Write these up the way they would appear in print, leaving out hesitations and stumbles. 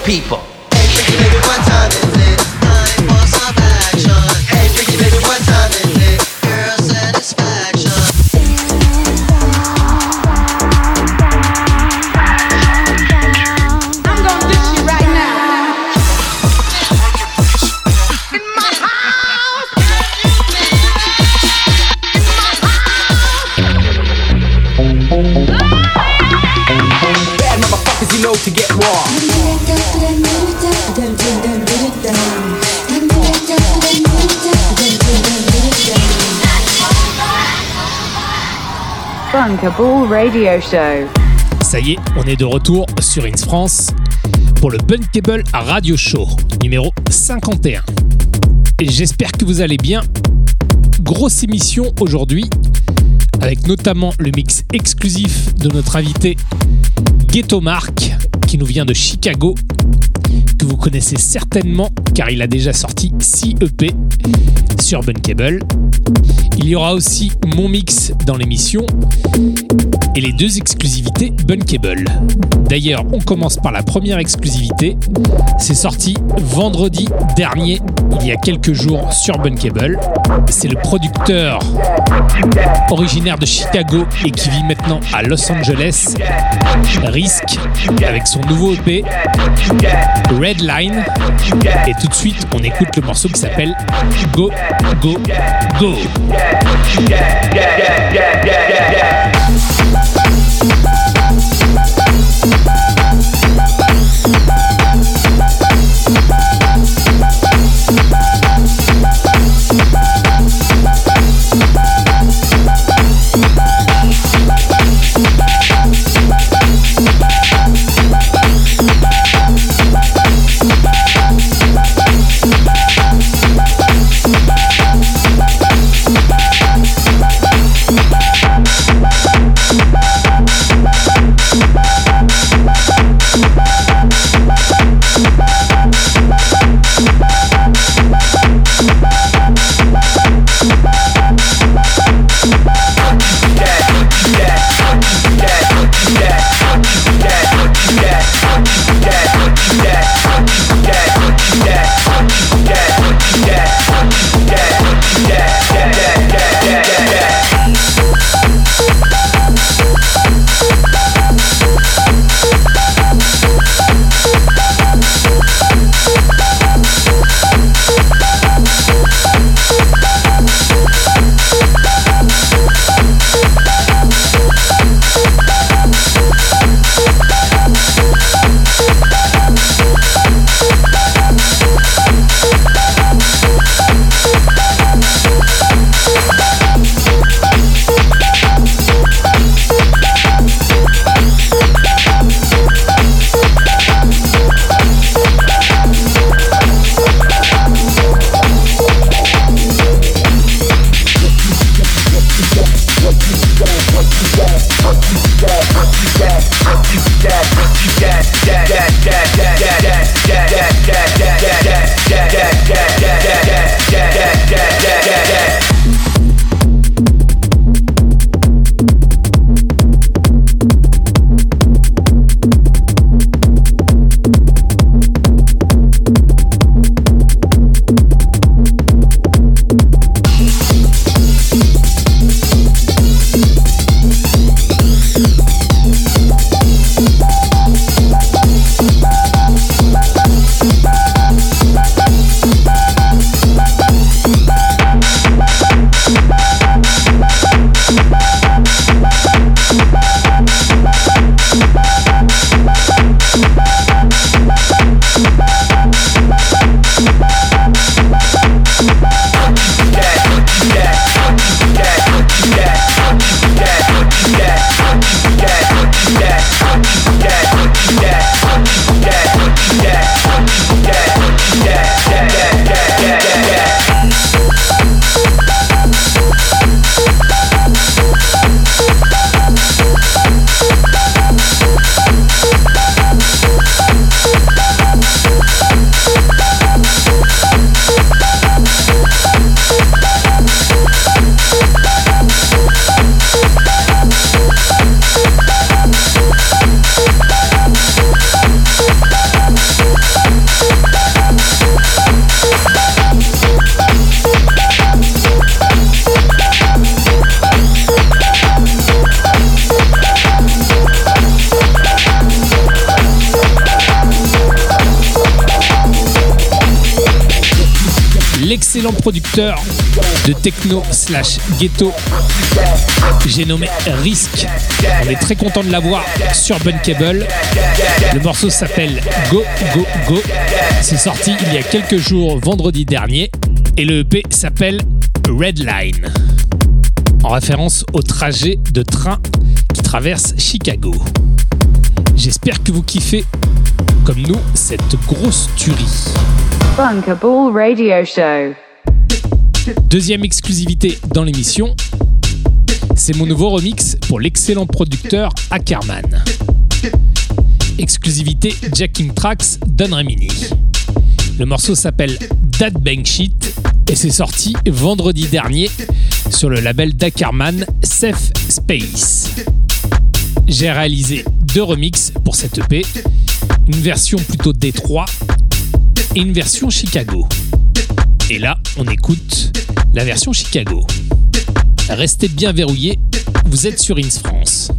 people. Hey, freaky baby, what time is it? Time for some action. Hey, freaky baby, what time is it? Girl satisfaction. I'm gonna dish you right now. In my house. Bad motherfuckers, you know to get raw. Bunkable Radio Show. Ça y est, on est de retour sur Ins France pour le Bunkable Radio Show numéro 51. Et j'espère que vous allez bien. Grosse émission aujourd'hui avec notamment le mix exclusif de notre invité Ghetto Mark qui nous vient de Chicago, que vous connaissez certainement car il a déjà sorti 6 EP sur Bunkable. Il y aura aussi mon mix dans l'émission et les 2 exclusivités Bunkable. D'ailleurs, on commence par la première exclusivité. C'est sorti vendredi dernier, il y a quelques jours sur Bunkable. C'est le producteur originaire de Chicago et qui vit maintenant à Los Angeles, Risk, avec son nouveau EP Redline. Et tout de suite, on écoute le morceau qui s'appelle Go, Go, Go. excellent producteur de techno / ghetto. J'ai nommé Risk. On est très content de l'avoir sur Bunkable. Le morceau s'appelle Go Go Go. C'est sorti il y a quelques jours, vendredi dernier. Et le EP s'appelle Red Line, en référence au trajet de train qui traverse Chicago. J'espère que vous kiffez, comme nous, cette grosse tuerie. Bunkable Radio Show. Deuxième exclusivité dans l'émission, c'est mon nouveau remix pour l'excellent producteur Ackerman. Exclusivité Jacking Tracks Don Remini. Le morceau s'appelle That Bang Shit et c'est sorti vendredi dernier sur le label d'Ackerman, Safe Space. J'ai réalisé 2 remixes pour cette EP, une version plutôt Détroit et une version Chicago. Et là, on écoute la version Chicago. Restez bien verrouillés, vous êtes sur Ins France.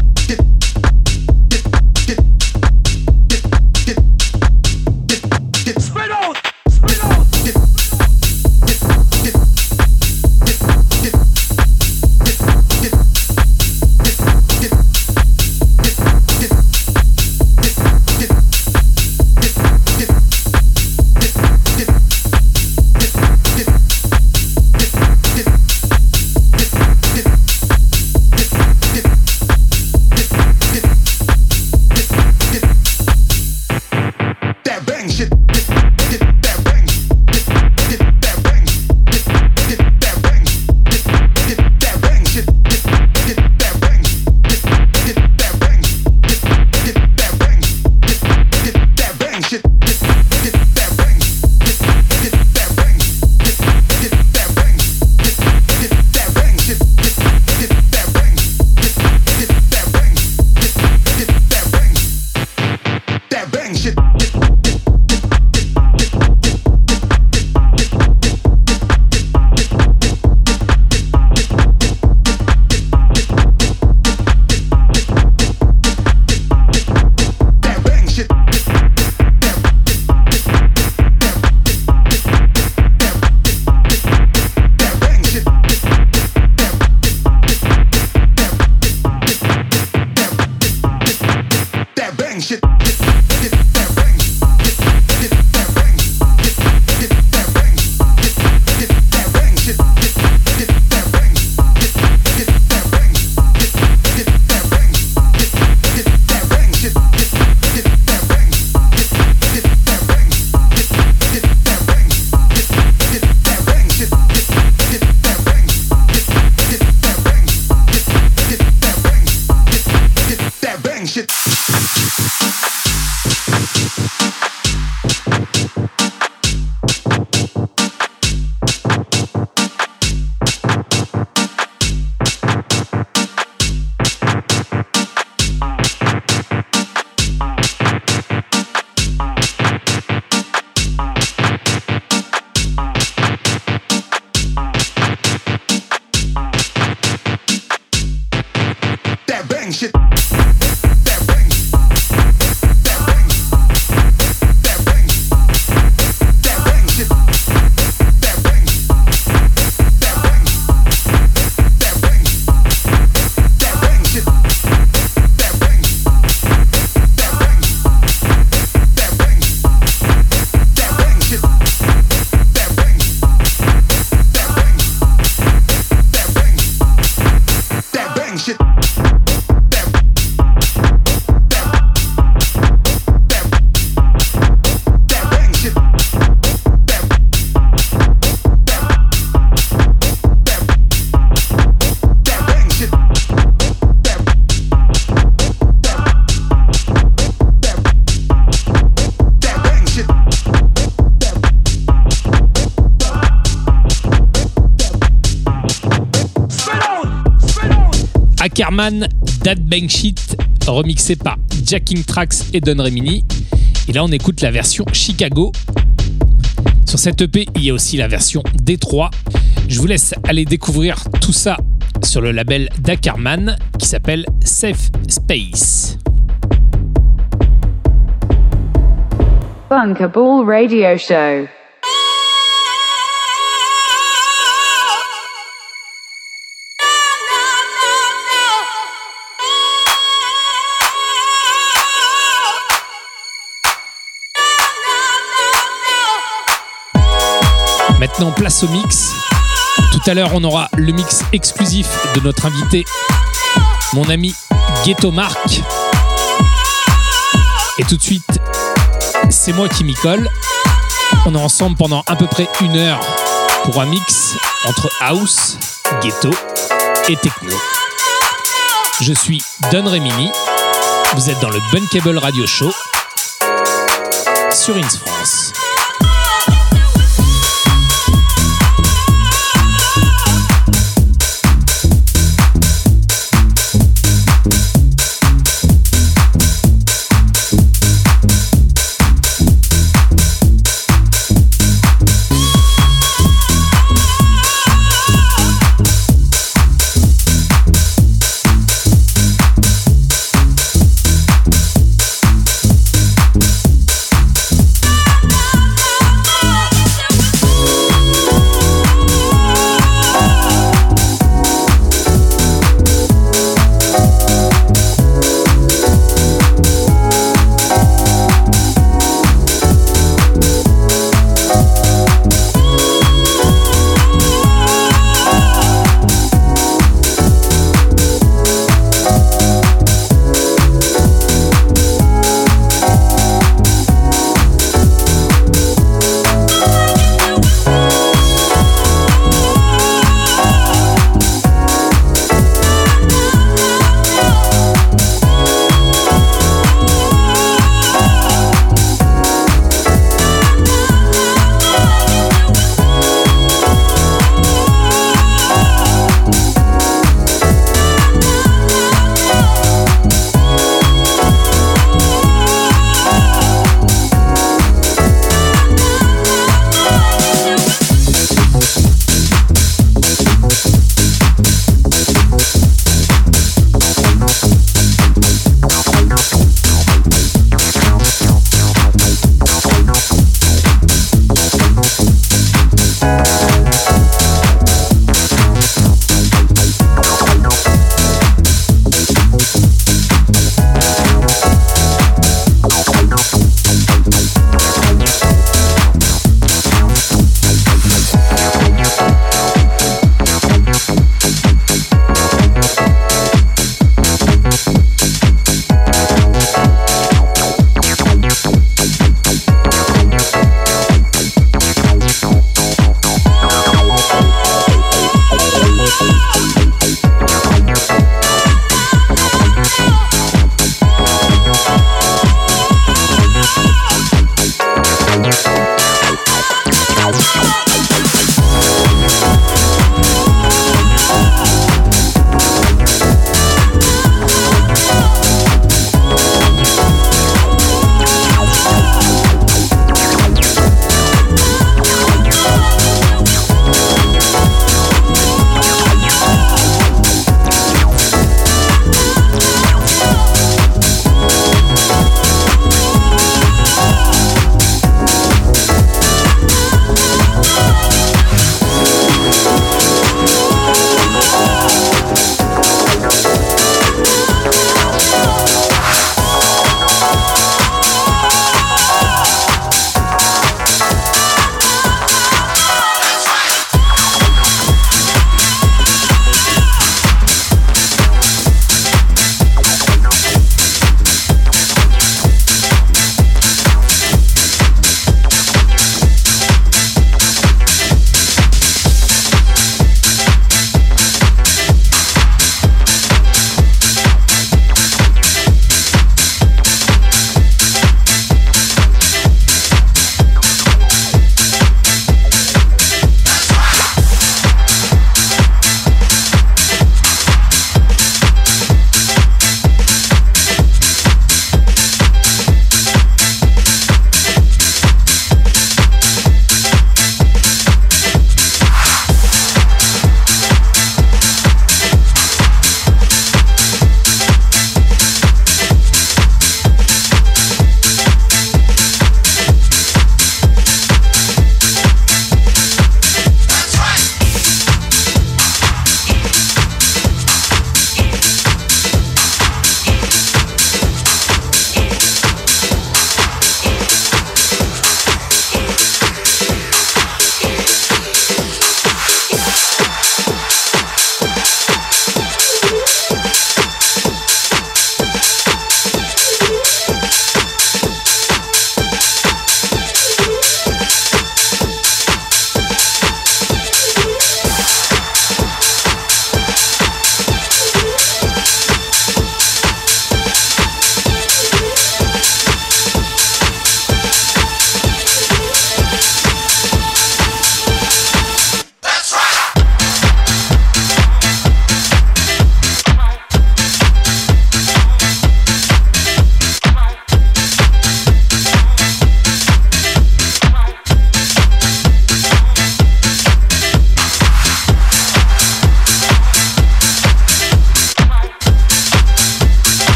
Ackerman, That Bang Shit, remixé par Jacking Tracks et Don Remini. Et là, on écoute la version Chicago. Sur cette EP, il y a aussi la version Détroit. Je vous laisse aller découvrir tout ça sur le label d'Ackerman qui s'appelle Safe Space. Bunkable Radio Show. place au mix. Tout à l'heure, on aura le mix exclusif de notre invité, mon ami Ghetto Mark. Et tout de suite, c'est moi qui m'y colle. On est ensemble pendant à peu près 1 heure pour un mix entre house, ghetto et techno. Je suis Don Remini. Vous êtes dans le Bunkable Radio Show sur Ins France.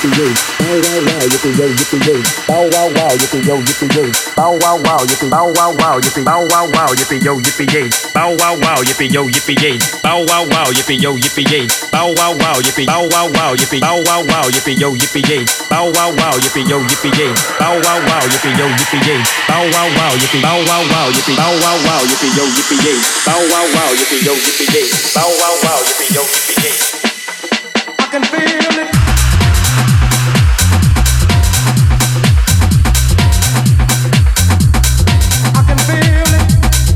yippee-yay. Bow wow wow, yippee-yo, yippee-yay. Bow wow wow, yippee-yo, yippee-yay. Bow wow wow, yippee, bow wow wow, yippee, bow wow wow, yippee-yo, yippee-yay. Bow wow wow, yippee-yo, yippee-yay. Bow wow wow, yippee-yo, yippee-yay. Bow wow wow, yippee, bow wow wow, yippee, bow wow wow, yippee-yo, yippee-yay. Bow wow wow, yippee-yo, yippee-yay. Bow wow wow, yippee-yo, yippee-yay. Bow wow wow, yippee, bow wow wow, yippee, bow wow wow, yippee-yo, yippee-yay. Bow wow wow, yippee-yo, yippee-yay. Bow wow wow, yippee-yo, yippee-yay. I can feel it. I can feel it.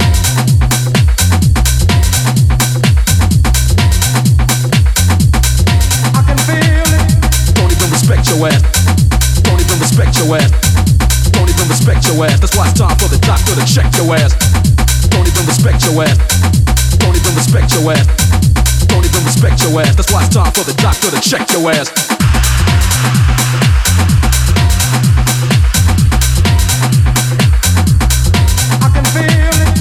I can feel it. Don't even respect your ass. Don't even respect your ass. Don't even respect your ass. That's why it's time for the doctor to check your ass. Don't even respect your ass. Don't even respect your ass. Don't even respect your ass. That's why it's time for the doctor to check your ass. I can feel it.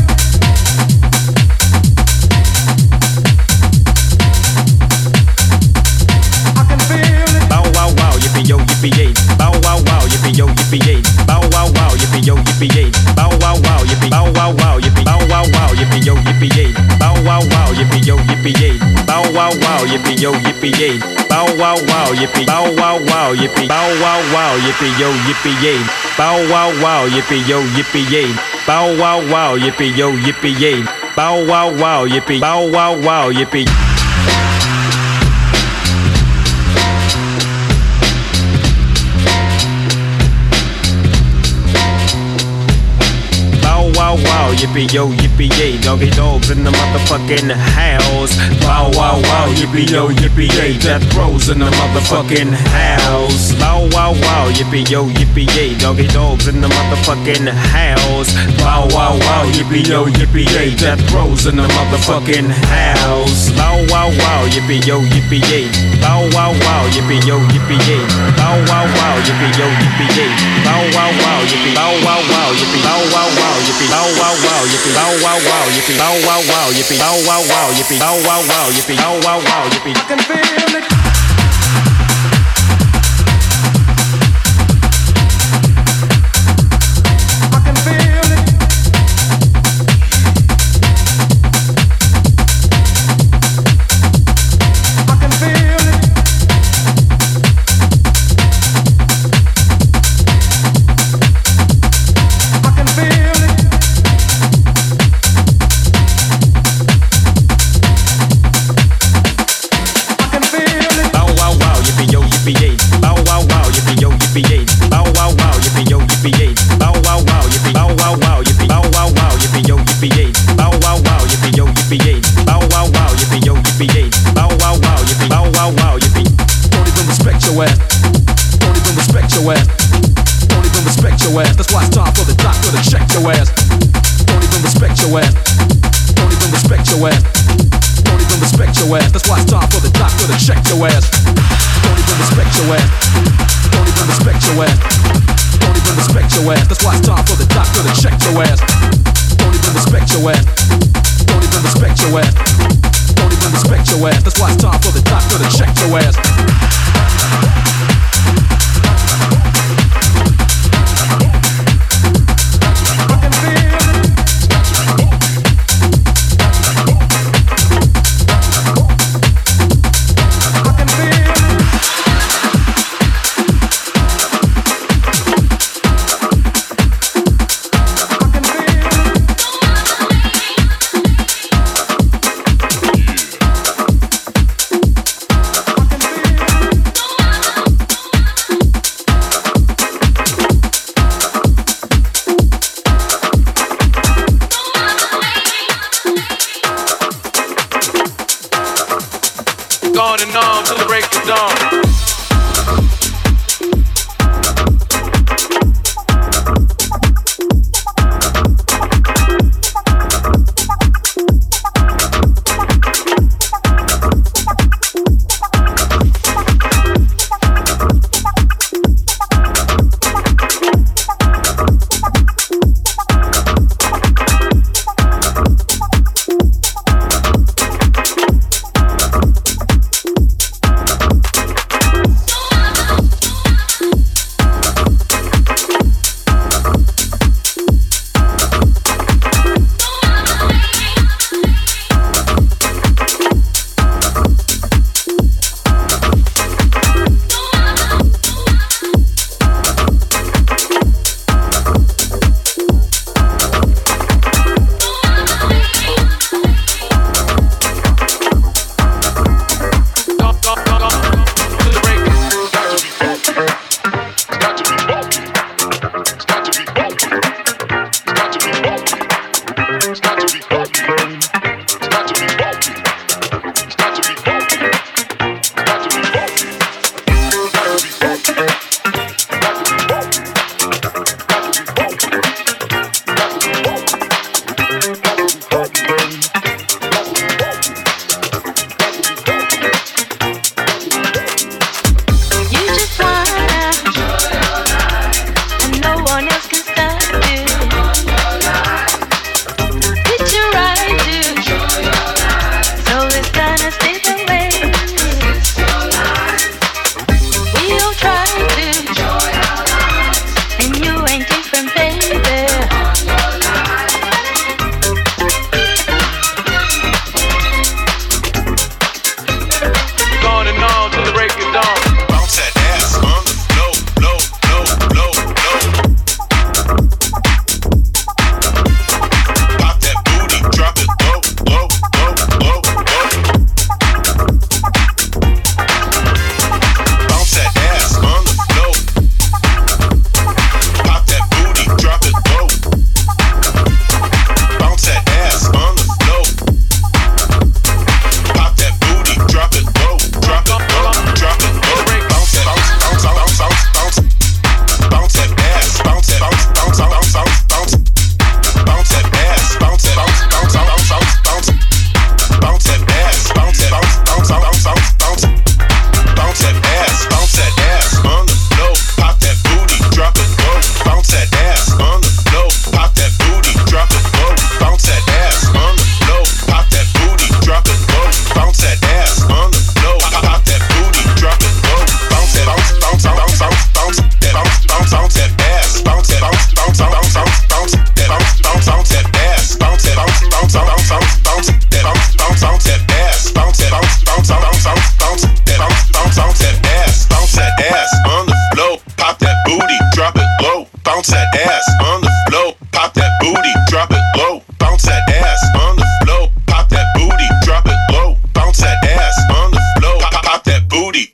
I can feel it. Bow wow wow, yippee-yo, yippee-yay. Bow wow wow, yippee-yo, yippee-yay. Bow wow wow, yippee-yo, yippee-yay. Bow wow wow, yippee, bow wow wow, yippee, bow wow wow, yippee-yo, yippee-yay. Bow wow wow, yippee-yo, yippee-yay. Bow wow wow, yippee-yo, yippee-yay. Bow wow wow, yippee, bow wow wow, yippee, bow wow wow, yippee-yo, yippee-yay. Bow wow wow, yippee-yo, yippee-yay. Bow wow wow, yippee-yo, yippee-yay. Bow wow wow, yippee, bow wow wow, yippee. Bow wow, yippee-yo, yippee-yay. Doggy dogs in the motherfucking house. Bow wow wow, yippee-yo, yippee-yay. Death rows in the motherfucking house. Bow wow wow, yippee-yo, yippee-yay. Doggy dogs in the motherfucking house. Bow wow wow, yippee-yo, yippee-yay. Death rows in the motherfucking house. Bow wow wow, yippee-yo, yippee-yay. Bow wow wow, yippee-yo, yippee-yay. Bow wow wow, yippee-yo, yippee-yay. Bow wow wow, yippee, bow wow wow, yippee, bow wow wow, yippee, bow wow wow, yippee, bow wow wow, yippee, bow wow wow, yippee, bow wow wow, yippee, bow wow wow, yippee, bow wow wow, yippee. I can feel it. I can feel it. I can feel it. I can feel it. I can feel it. Bow wow wow, yippee-yo, yippee-yay. Bow wow wow, yippee-yo, yippee-yay. Bow wow wow, yippee-yo, yippee-yay. Bow wow wow, yippee, bow wow wow, yippee, bow wow wow, yippee-yo, yippee-yay. Bow wow wow, yippee-yo, yippee-yay. Bow wow wow, yippee-yo, yippee-yay. Bow wow wow, yippee, bow wow wow, yippee. Don't even respect your ass. Don't even respect your ass. Don't even respect your ass. That's why it's time for the doctor to check your ass. Don't even respect your ass. Don't even respect your ass. Don't even respect your ass. That's why it's time for the doctor to check your ass. Don't even respect your ass. Don't even respect your ass. Don't even respect your ass. That's why it's time for the doctor to check your ass. Don't even respect your ass. Don't even respect your ass. Don't even respect your ass. That's why it's time for the doctor to check your ass. I can feel it. I can feel it. I can feel it. On and on till the break of dawn.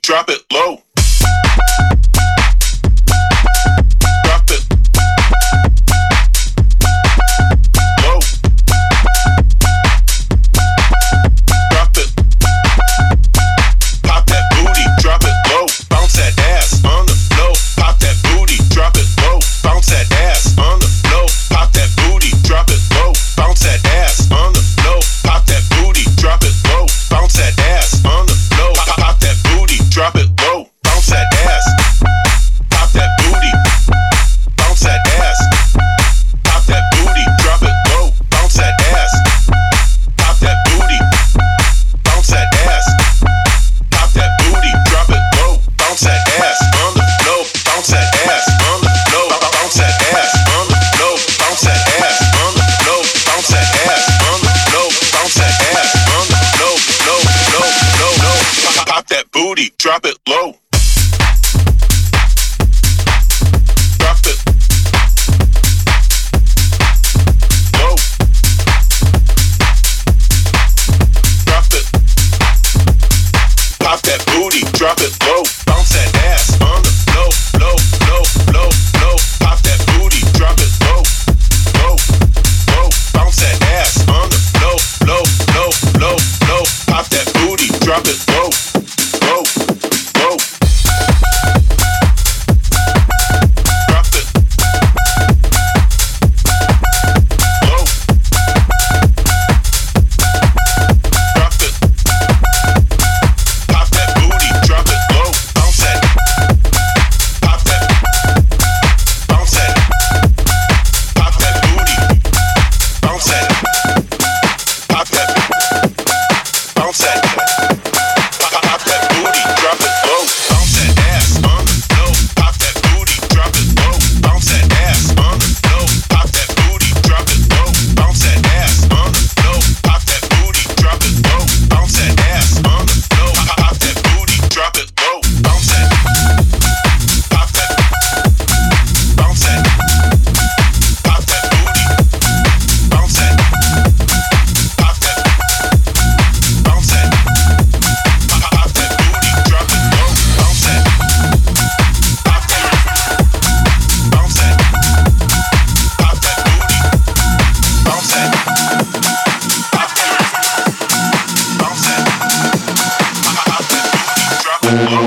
drop it low. Drop it low. Drop it. Pop that booty, drop it low. Bounce that ass on the floor. Pop that booty, drop it low. Bounce that ass on the floor. Pop that booty, drop it low. Bounce that ass on the floor. Pop that booty, drop it low. Bounce that ass on the floor. Pop that booty, drop it low. Bounce that ass. Pop that booty. Bounce that ass. Pop that booty, drop it low. Bounce that ass. Pop that booty. Bounce that ass. Pop that booty, drop it low. Bounce that ass on the floor. Bounce that ass on the floor. Bounce that ass on the floor. Bounce that ass on the floor. Bounce that ass on the floor. Bounce that ass on the floor. Low. Pop that booty, drop it low. Drop it low. Drop it. Pop that booty, drop it low. Bounce that ass on the floor. Low. Pop that booty, drop it low. Bounce that ass on the floor. Low. Pop that booty, drop it low. Drop it low. Drop it. Pop that booty, drop it low. Bounce that. Pop that. Bounce that. Pop that booty. Bounce that. Pop that. Bounce that. Pop that booty, drop it low. Bounce that ass on the floor. Pop that booty, drop it low. Bounce that ass on the floor. Pop that booty, drop it low. Bounce that ass on the floor. Pop that booty, drop it low. Bounce that ass on the floor. Pop that booty, drop it low. Bounce that. Pop that. Bounce that. Pop that booty. Bounce that. Pop that. Bounce that. Pop that booty, drop it low. Bounce that. Pop that. Bounce that. Pop that booty. Bounce that. Pop that. Bounce that. Pop that booty, drop it low.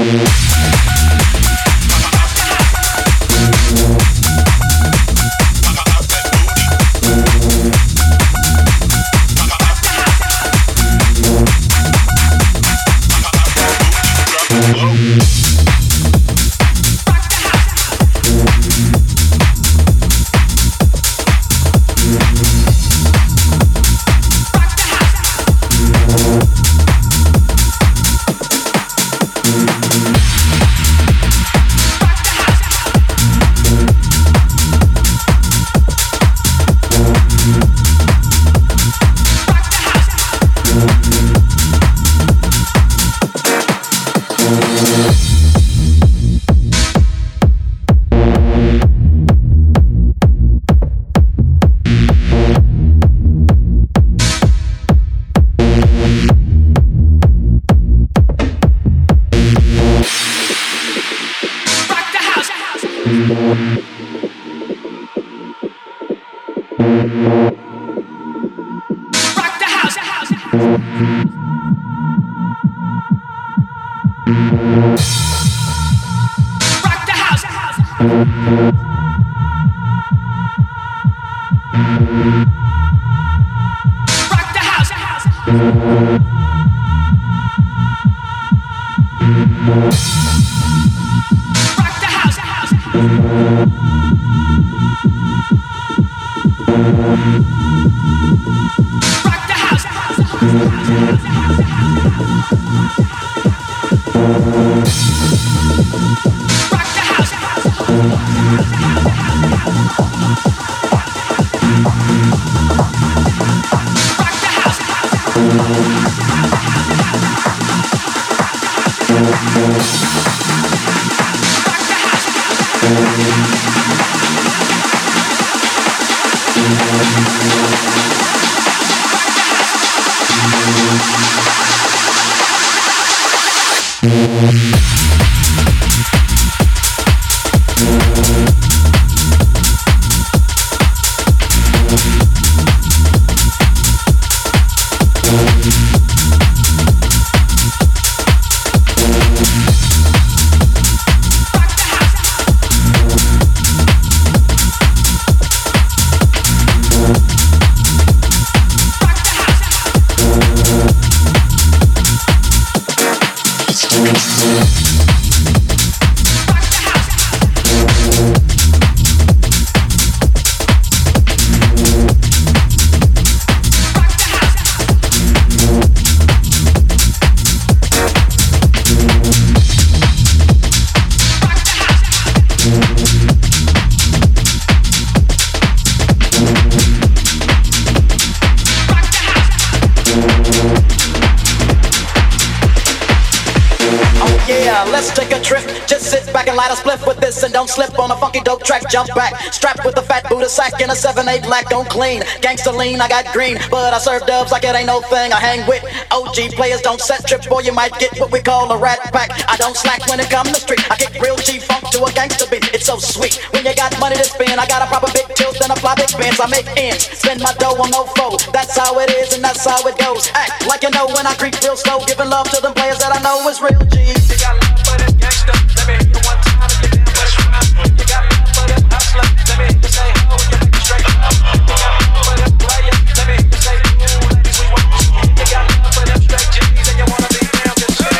Don't slip on a funky dope track, jump back. Strapped with a fat Buddha sack and a 7-8 black, don't clean. Gangsta lean, I got green, but I serve dubs like it ain't no thing. I hang with OG players, don't set trip, boy, you might get what we call a rat pack. I don't slack when it comes to street, I kick real G-funk to a gangsta beat. It's so sweet, when you got money to spend, I got a proper big tilt and a fly big bands. I make ends, spend my dough on no foe. That's how it is and that's how it goes. Act like you know when I creep real slow, giving love to them players that I know is real G. You got love for them gangsta, let me hear you one time and get down, let's run. You got love for them hustler, let me hear you say ho, you make it straight up. You got love for them players, let me hear you say ooh, ladies we want you. You got love for them straight G's and you wanna be down, just say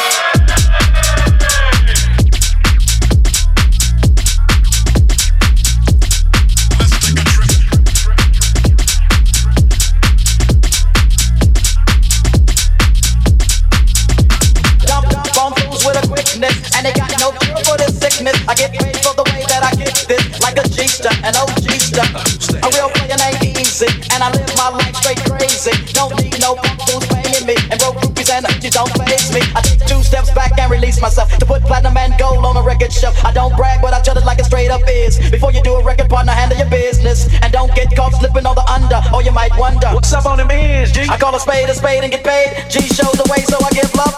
and they got no cure for this sickness. I get paid for the way that I get this, like a G-star, an OG-star. A real player named Easy, and I live my life straight crazy. Don't need no punk who's paying me, and broke groupies and you don't face me. I take 2 steps back and release myself to put platinum and gold on a record shelf. I don't brag, but I tell it like it straight up is. Before you do a record, partner, handle your business, and don't get caught slipping on the under, or you might wonder what's up on them ends, G. I call a spade and get paid. G shows the way, so I give love.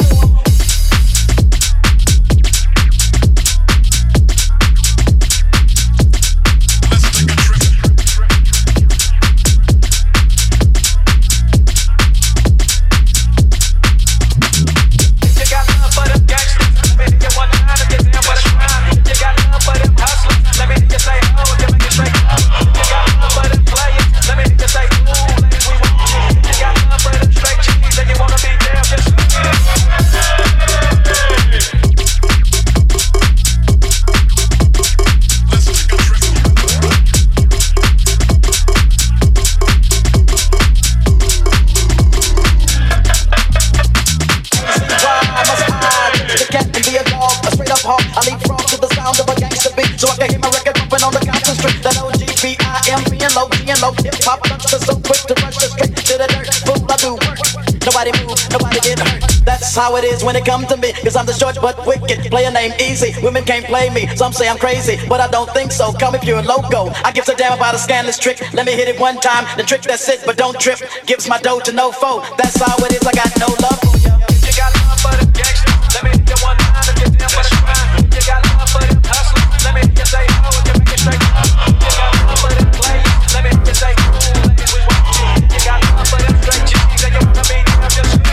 That's how it is when it comes to me, cause I'm the short but wicked player named Easy. Women can't play me, some say I'm crazy, but I don't think so. Call me pure loco, I gives a damn about a scandalous trick. Let me hit it one time, the trick that's it, but don't trip. Gives my dough to no foe, that's how it is, I got no love for ya. You got love for the gangsta, let me hit you one time and get down for the crime. You got love for them hustlers, let me hear you say oh, you make it straight up. You got love for them players, let me hear you say ooh, ladies we want you. You got love for them straight G's and you wanna be down just me.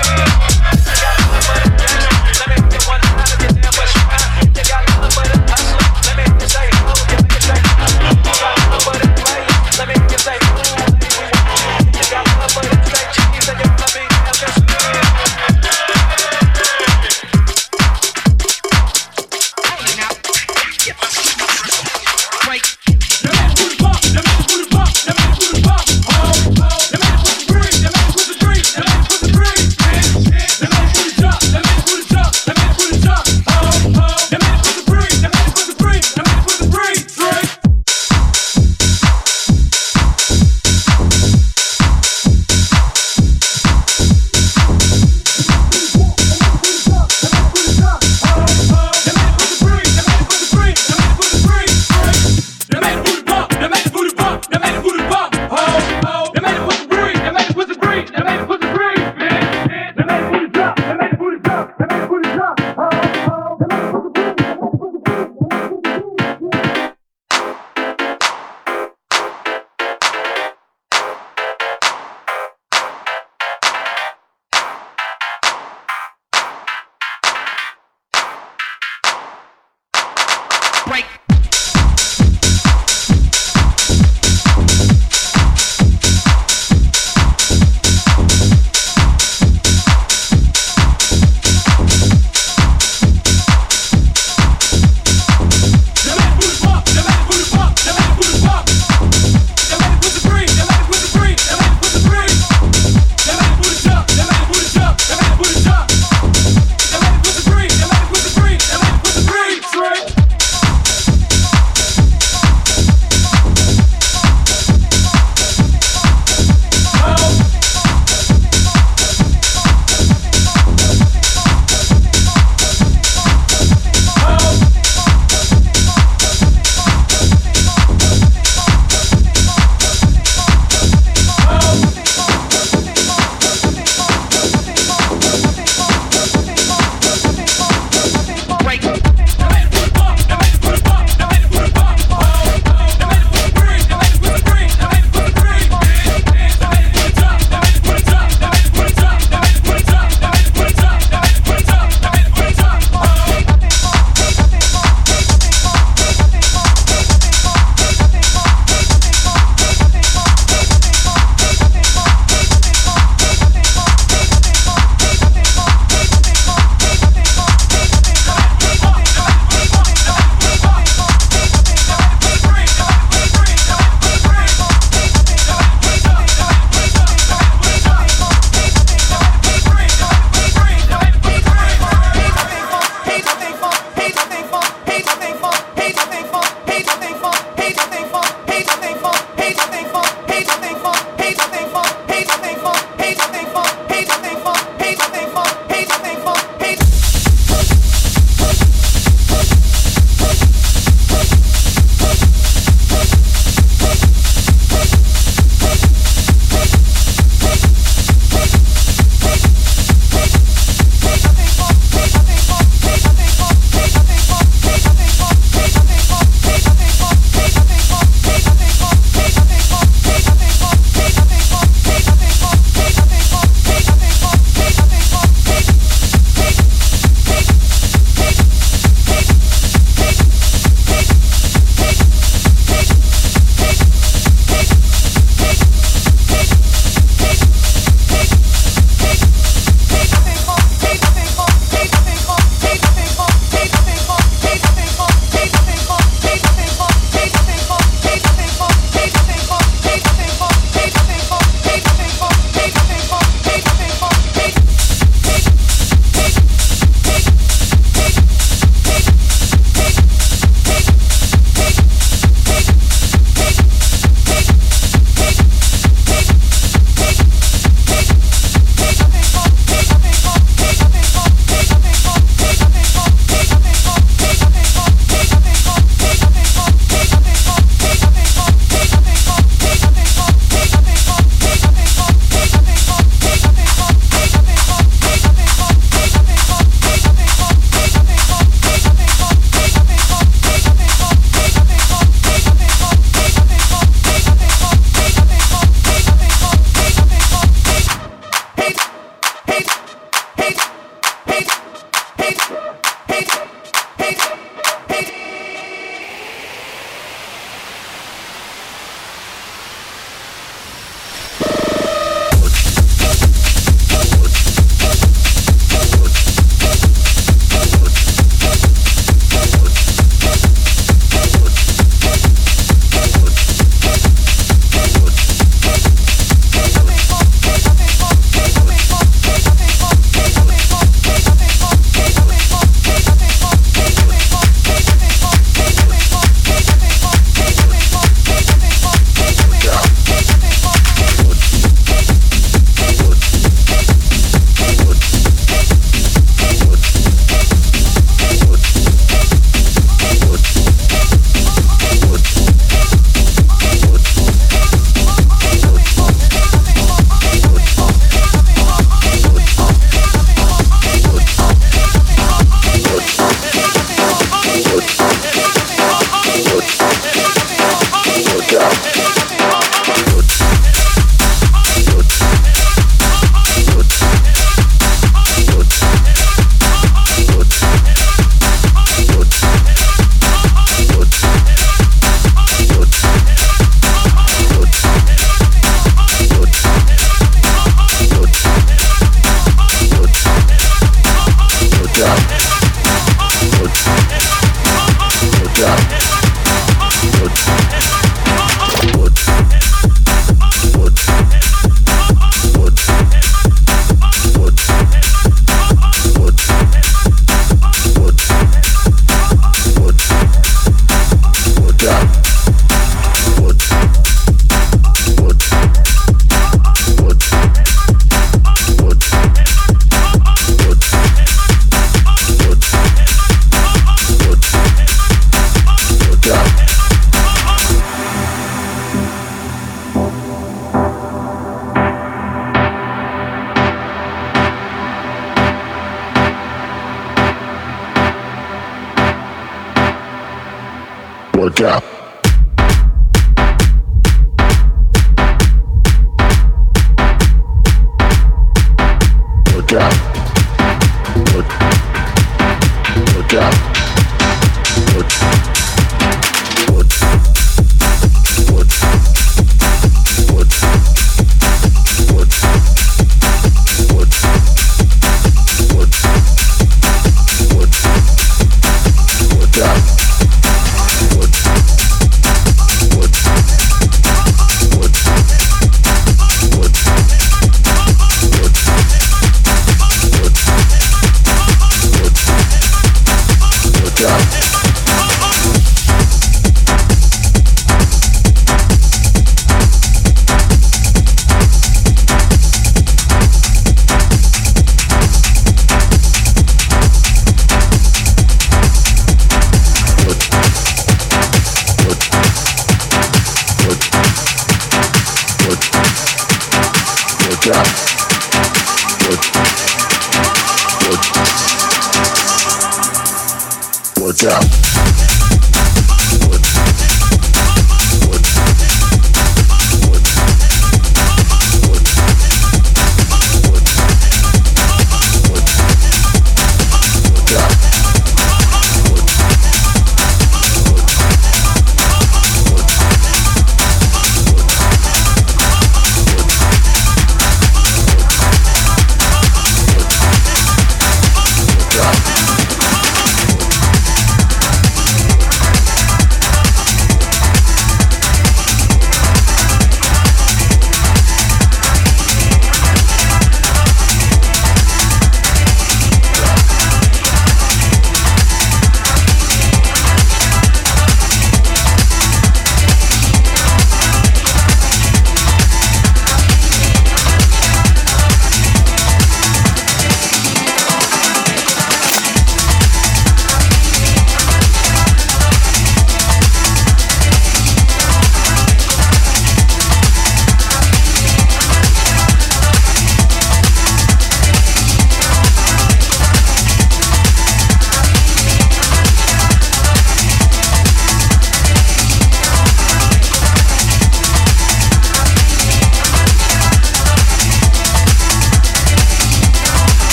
Work out. Work out. Work out. Work out.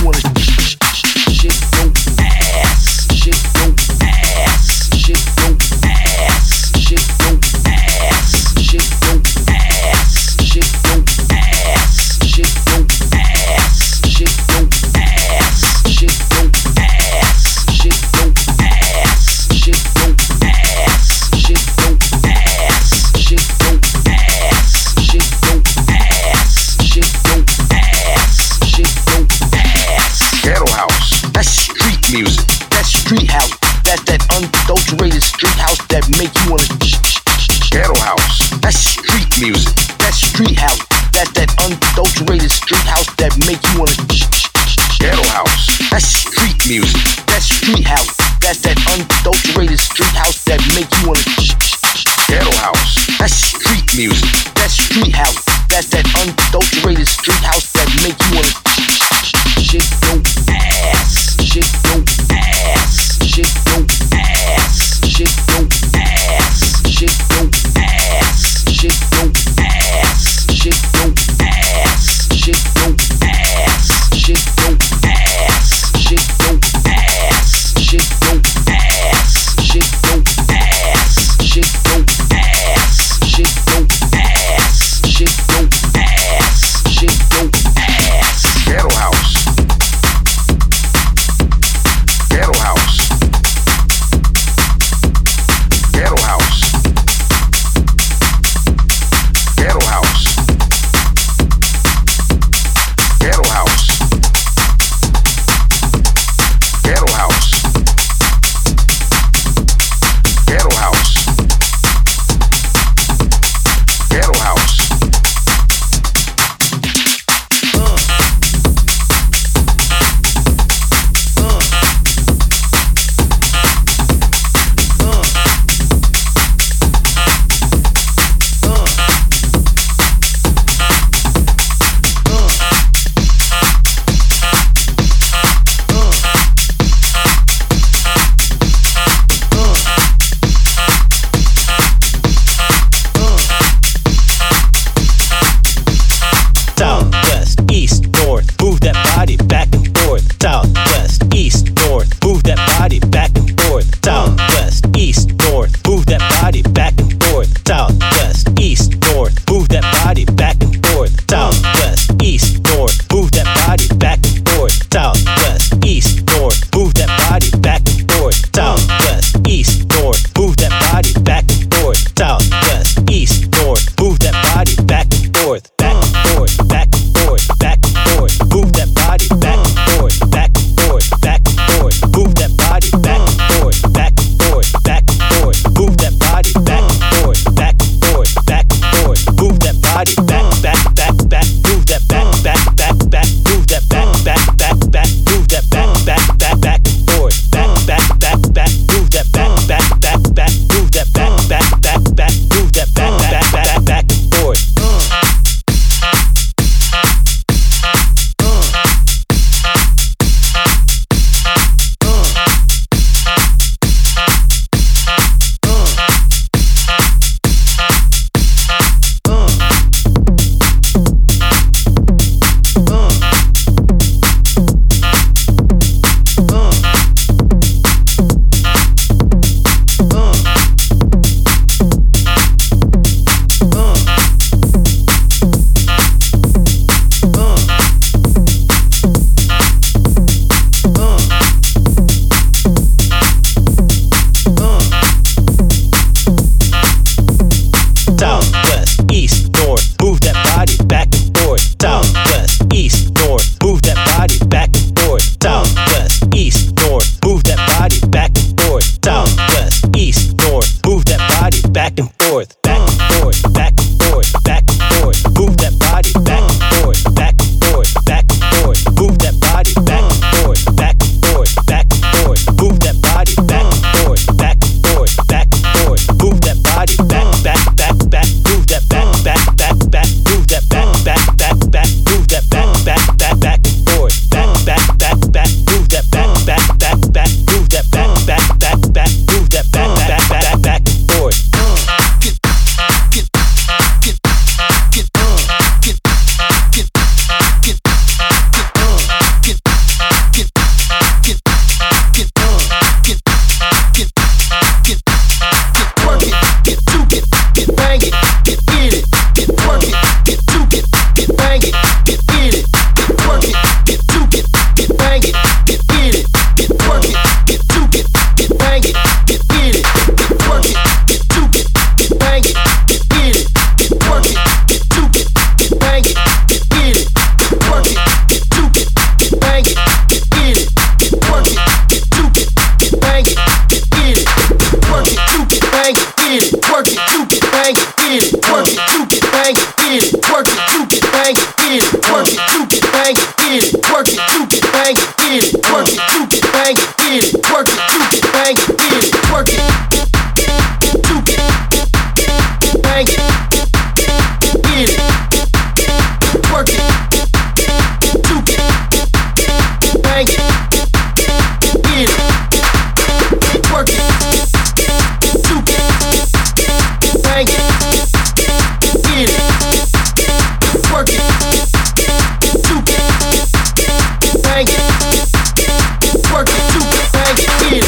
you wanna shake your ass, shake your ass, shake your ass, shake your ass, shake your ass, shake your ass, shake your ass, shake your ass, shake your ass, shake your ass, shake your ass, shake your ass, shake your ass, shake your ass, shake your ass, shake your ass, shake your ass. Ghetto house, that's street music. That's street house. That's that unadulterated street house that make you wanna. Ghetto house, that's street music. That's street house. That's that unadulterated street house that make you wanna. Ghetto house, that's street music. That's street house. That's that unadulterated street house that make you wanna. Ghetto house, that's street music. That's street house. That's that unadulterated street house that make you wanna. Shake your ass, shake your ass, shake your ass, shake your ass, shake your ass, shake your ass, shake your ass, shake your ass, shake your ass, shake your ass, shake your ass, shake your ass, shake your ass, shake your ass, shake your ass, shake your ass, shake your ass. Ghetto house. bang it, hit it, work it, juke it, bang it, hit it, work it, juke it, bang it, work it, juke it, bang it, hit it.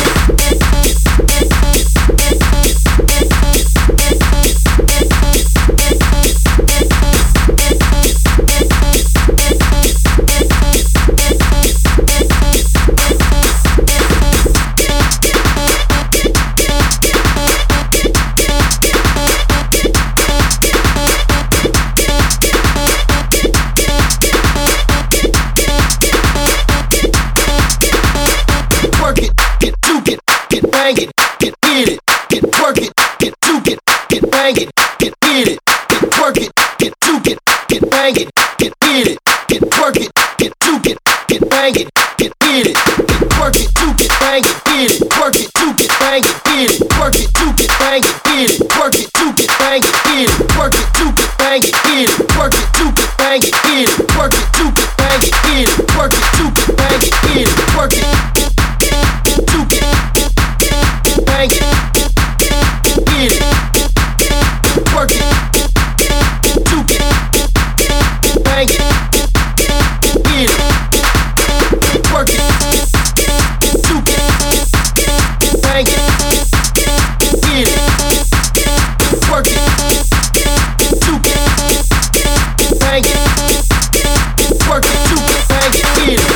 Bang it, get hit it, get work it, get juke it, get bang it, get hit it, get work it, get juke it, get bang it, get hit it, get work it, get juke it, get bang it, get hit it, get work it, juke it, bang it, hit it, work it, juke it, bang it, hit it, work it, juke it, bang it, hit it, work it, juke it, bang it, hit it, work it, juke it, bang it, hit it, work it, juke it, bang it, hit it, work it, juke it, bang it, hit it, work it, juke it, bang it, hit it, work it, juke it. Bang it, hit it, work it, juke it, bang it, hit it, work it, juke it, bang it, hit it, work it, juke it, bang it, work it, juke it, bang it, hit it.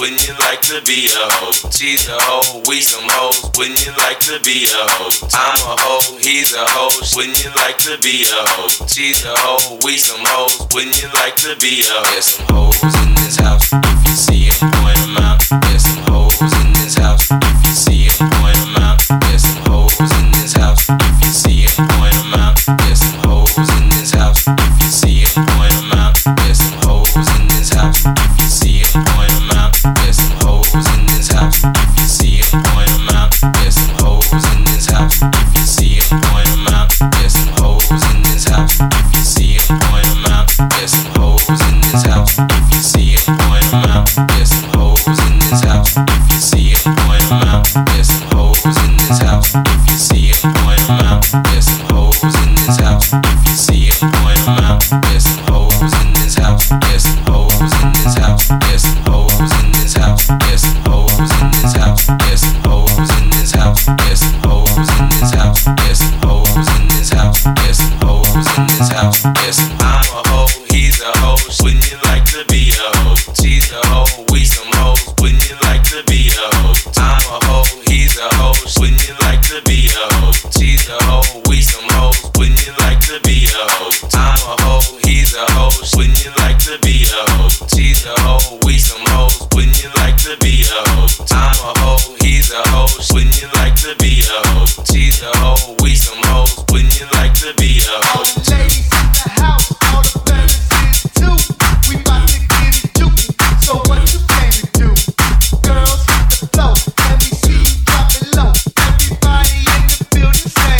wouldn't you like to be a hoe? She's a hoe, we some hoes, wouldn't you like to be a hoe? I'm a hoe, he's a hoe, wouldn't you like to be a hoe? She's a hoe, we some hoes, wouldn't you like to be a hoe? There's some hoes in this house, if you see them, point them out. There's some hoes in this house, if you see them, point them out. There's some hoes in this house, if you see them, point them out. There's some hoes in this house, if you see them, point them out. There's some hoes in this house, if you see them, point them out. There's some hoes in this house, if you see them, point them out. There's some hoes in this house, if you see them, point them out. There's some hoes in this house, if you see them, point them out. There's some hoes in this house, if you see them, point them out. There's some hoes in this house, if you see them, point them out. There's some hoes in this house, if you see them, point them out. There's some hoes in this house, if you see them, point them out. There's some hoes in this house, there's some hoes in this house, there's some hoes in this house, there's some hoes in this house, there's some hoes in this house, there's some hoes in this house, there's some hoes in this house, there's some hoes in this house, there's some. I'm a hoe, he's a hoe, wouldn't you like to be a hoe? She's a hoe, we some hoes, wouldn't you like to be a hoe? I'm a hoe, he's a hoe, wouldn't you like to be a hoe? She's a hoe, we some hoes, wouldn't you like to be a hoe? I'm a hoe, he's a hoe, wouldn't you like to be a hoe? She's a hoe, we some hoes, wouldn't you like to be a hoe? I'm a hoe, he's a hoe, wouldn't you like to be a hoe? She's a hoe, we some hoes, wouldn't you like to be a hoe? All the ladies in the house, all the fellas is too. We bout to get it jukin', so what you plan to do? Girls hit the floor, let me see you drop it low. Everybody in the building say,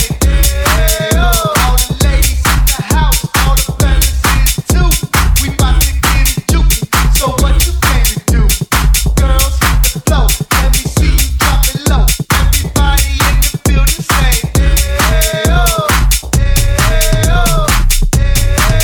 yeah. All the ladies in the house, all the fellas is too. We bout to get it jukin', so what you plan to do? Girls hit the floor, let me see you drop it low. Everybody in the building say, yeah.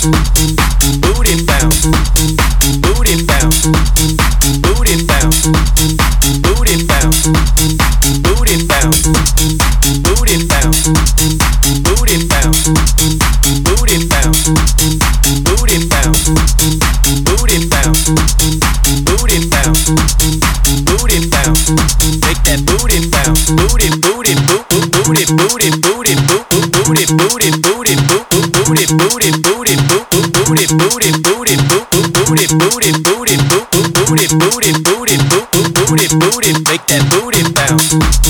booty bounce, booty bounce, booty bounce, booty bounce, booty bounce, booty bounce, booty bounce, booty bounce, booty bounce, booty bounce, booty bounce, booty bounce, make that booty bounce, booty booty boot booty booty booty boot booty booty booty boot booty booty booty boot booty booty booty boot booty booty booty boot booty booty booty boot booty booty make that booty bounce.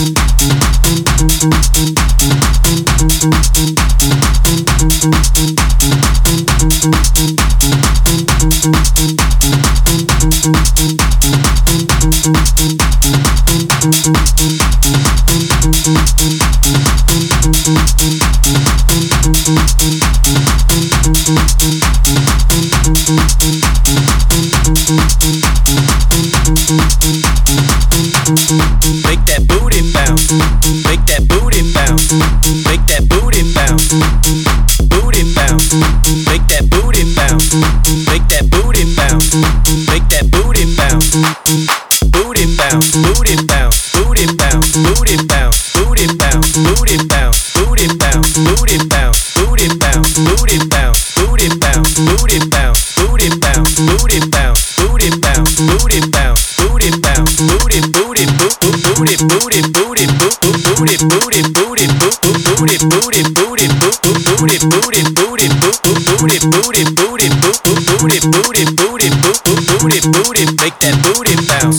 Make that booty bounce, make that booty bounce, make that booty bounce, booty bounce, make that booty bounce, make that booty bounce, make that booty bounce, booty bounce, booty bounce, booty bounce, booty bounce, booty bounce, booty bounce, booty bounce, booty bounce, booty bounce, booty bounce, booty bounce, booty bounce, booty bounce, booty bounce, booty bounce, booty bounce, booty bounce, booty booty boot booty booty booty boot booty booty booty boot booty booty booty boot booty booty booty boot booty booty booty boot booty booty booty boot booty booty make that booty bounce.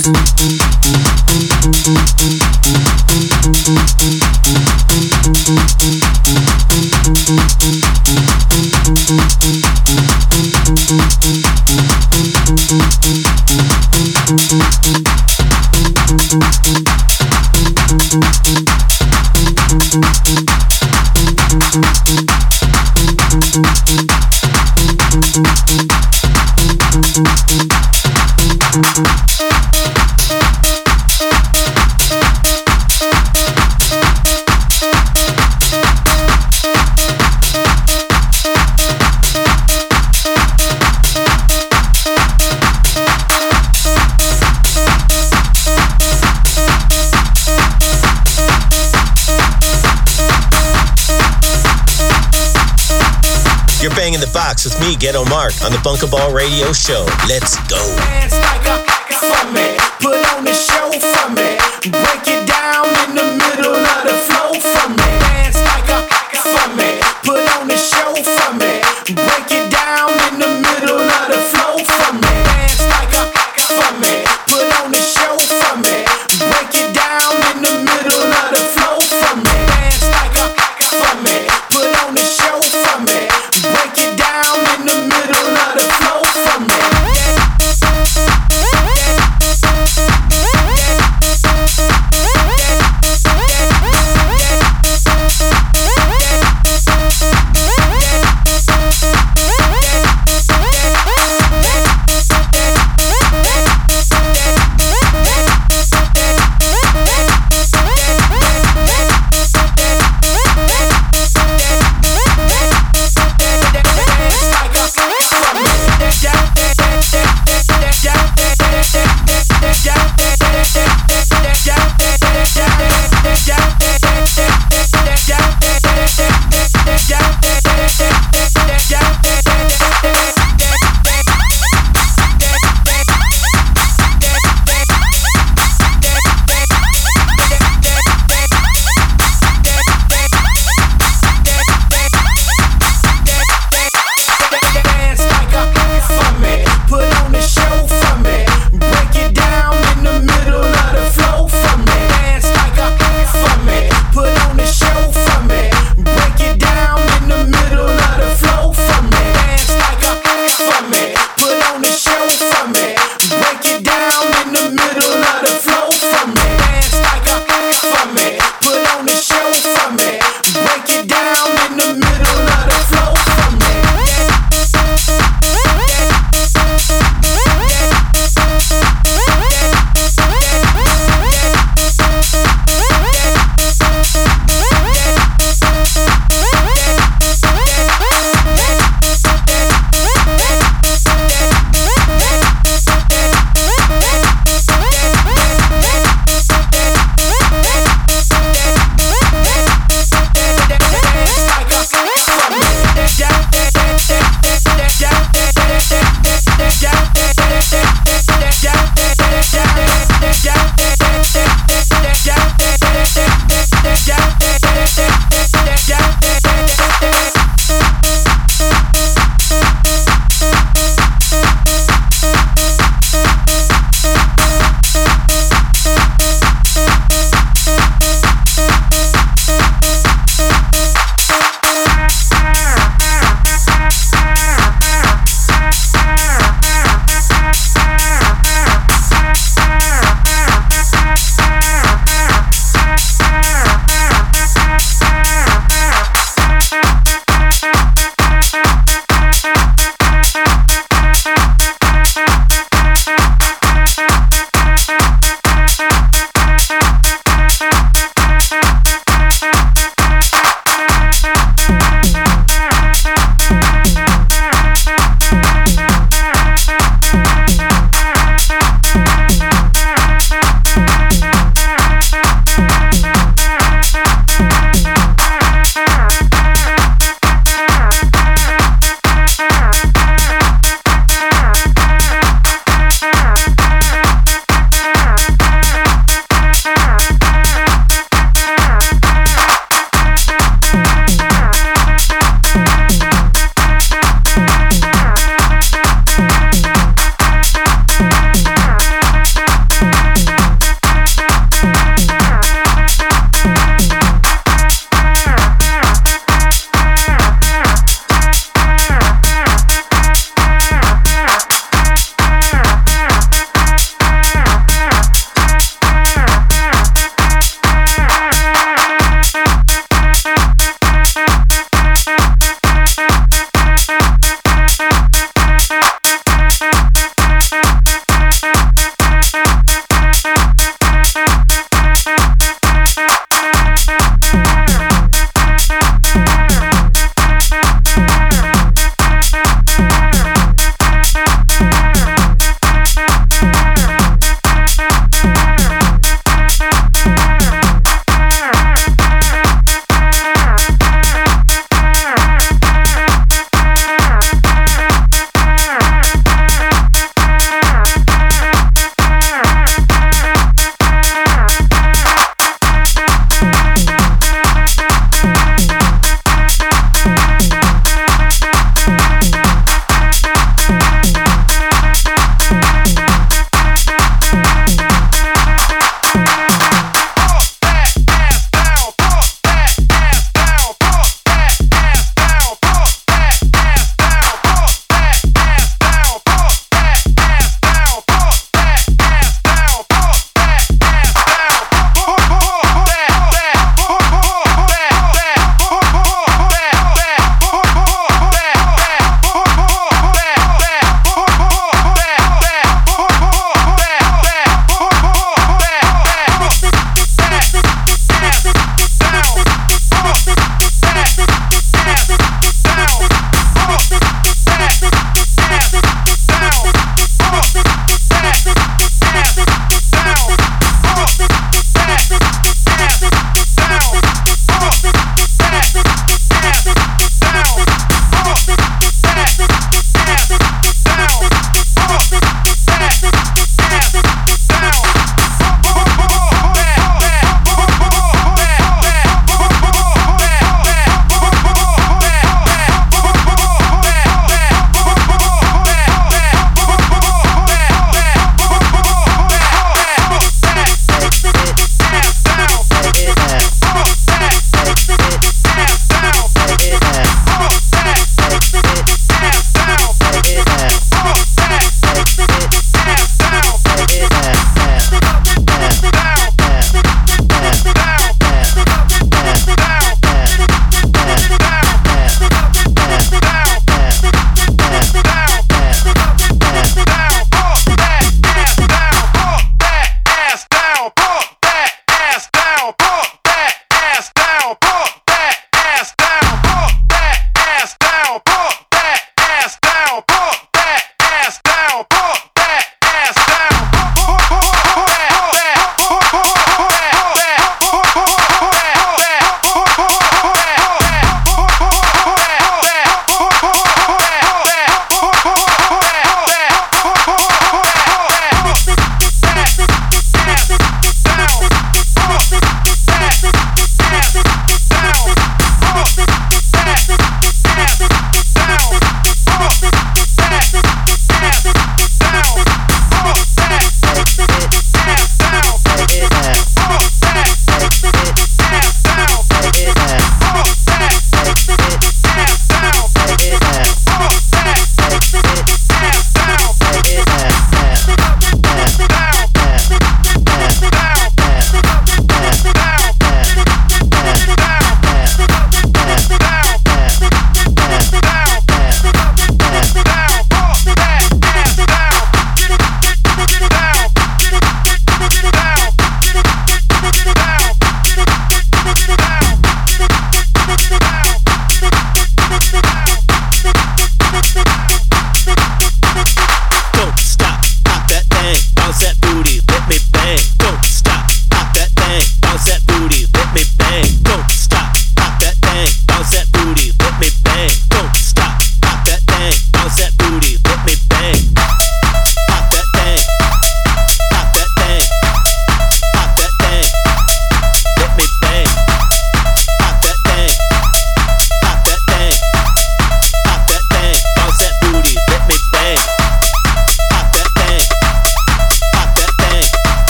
You're banging the box with me, Ghetto Mark, on the Bunkaball Radio Show. Let's go. Dance like a for me, put on the show for me, break it down in the middle of the flow for me. Dance like a for me, put on the show for me, break it down in the middle of the flow for me. Dance like a for me, put on the show for me, break it down in the middle of the flow for me. Dance like a for me, put on the show for me, break it down in the middle of the flow for me. Dance like a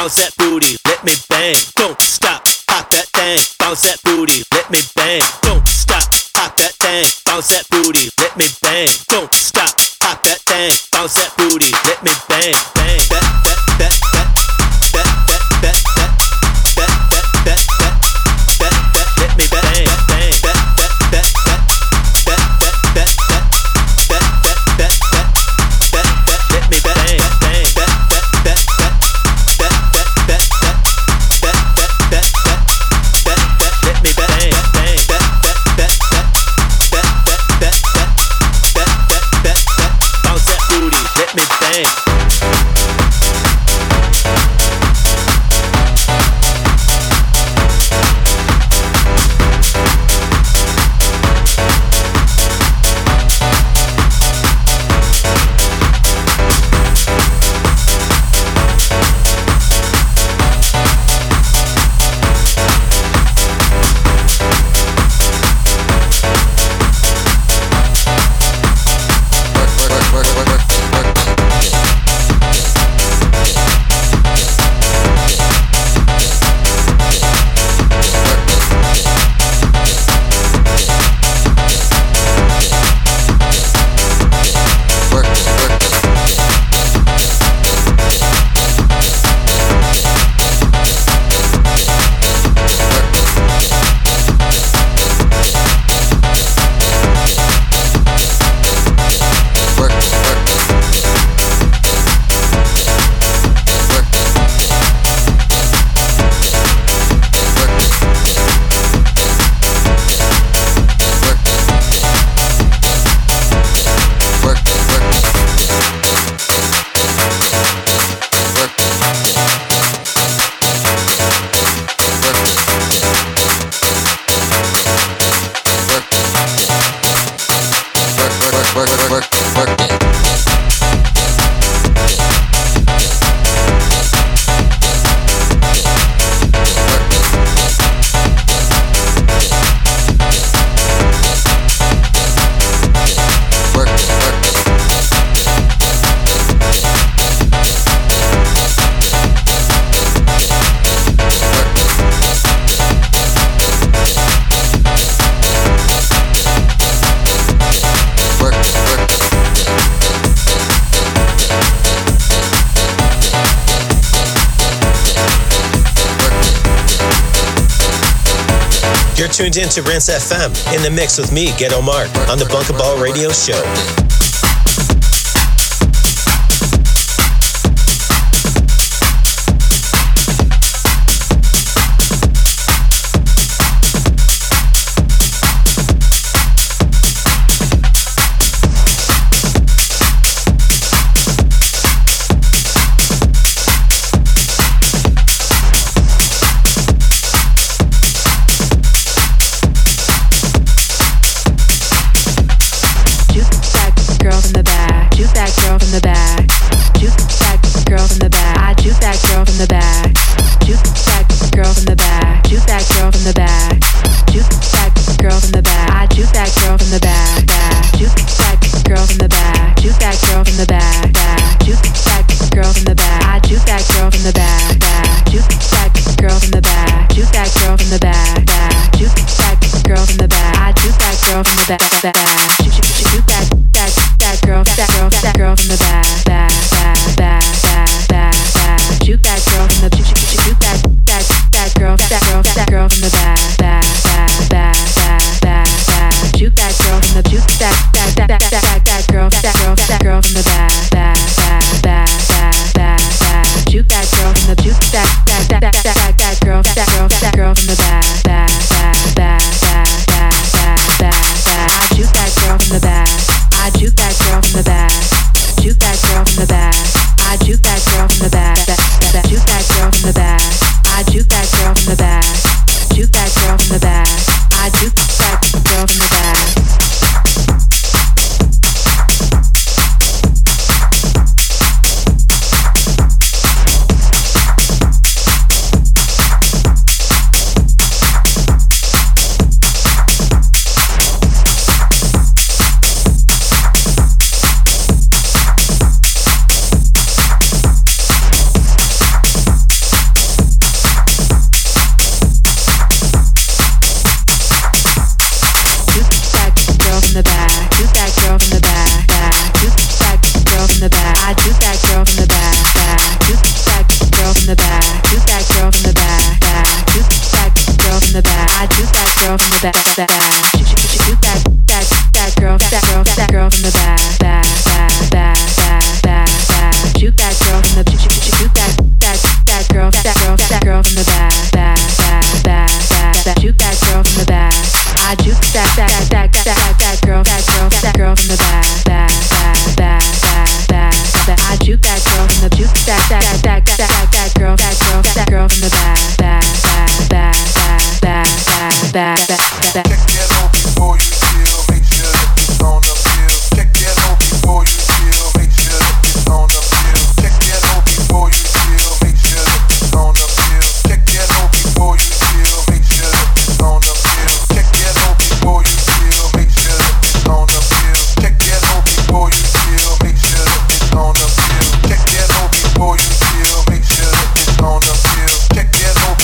bounce that booty, let me bang. Don't stop, pop that thing, bounce that booty, let me bang. Don't stop, pop that thing, bounce that booty, let me bang. Don't stop, pop that thing, bounce that booty, let me bang, bang. Let me bang, bang. Let me bang, bang. Let me bang, bang. Bounce that booty, let me bang. You're tuned in to Rinse FM, in the mix with me, Ghetto Mark, on the Bunkaball Radio Show. from the back. Juke that girl from the back. Juke that girl from the back. I juke that girl from the back. Juke that girl from the back. Juke that girl from the juke that girl from the back. Juke that girl from the back. I juke that girl from the back. I juke that girl from the juke that girl from the back. Check that out before you chill. Make sure that it's on the bill. Check that out before you chill. Make sure that it's on the bill. Check that out before you chill. Make sure that it's on the bill. Check that out before you chill. Make sure that it's on the bill. Check that out before you chill. Make sure that it's on the bill. Check that out before you chill. Make sure that it's on the bill. Check that out before you chill. Make sure that it's on the bill. Check that out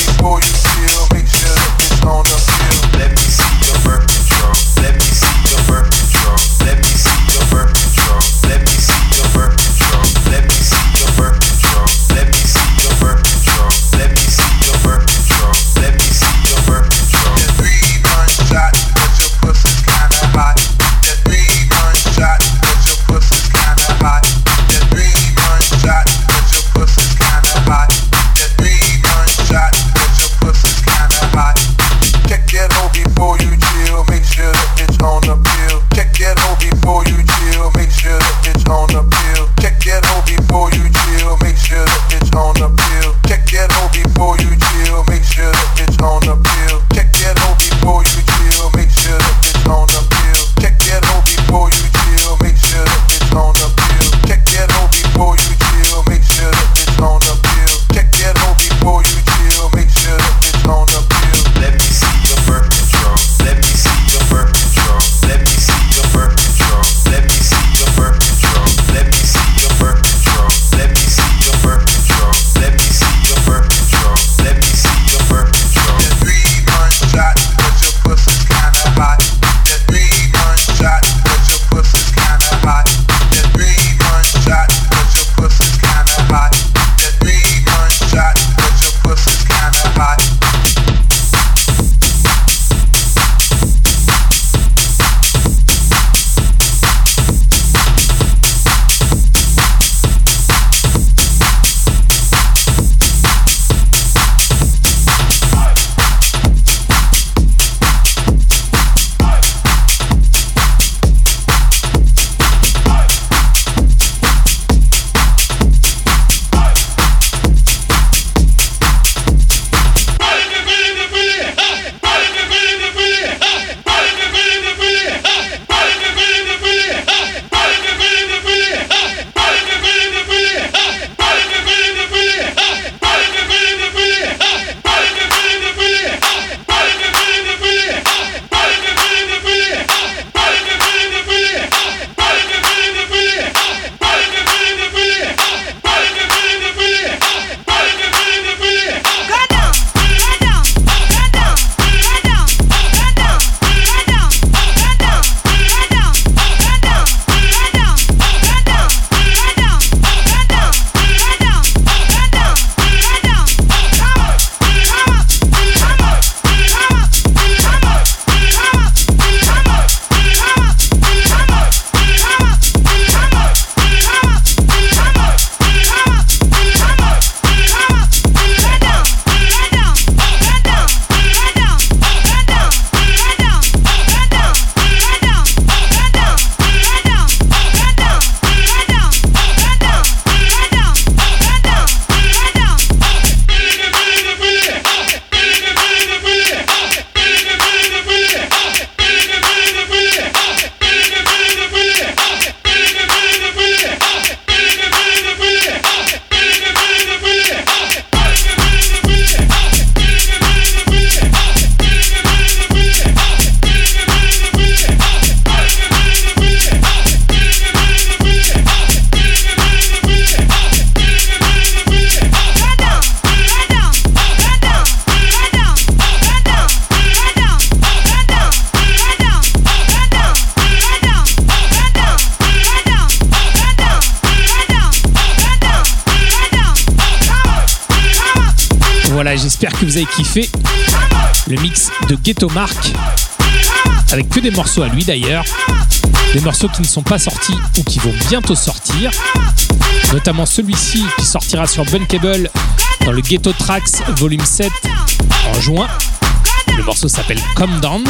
Voilà, j'espère que vous avez kiffé le mix de Ghetto Mark, avec que des morceaux à lui d'ailleurs, des morceaux qui ne sont pas sortis ou qui vont bientôt sortir, notamment celui-ci qui sortira sur Bunkable dans le Ghetto Tracks Volume 7 en juin. Le morceau s'appelle Calm Down.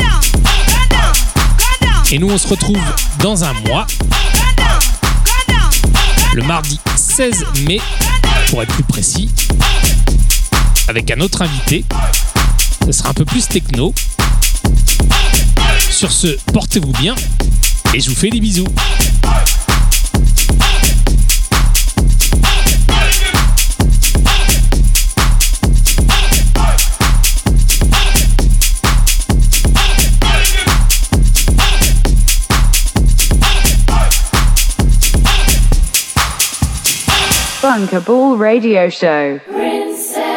Et nous on se retrouve dans un mois, le mardi 16 mai pour être plus précis, avec un autre invité. Ce sera un peu plus techno. Sur ce, portez-vous bien et je vous fais des bisous. Bunkable Radio Show. Princess.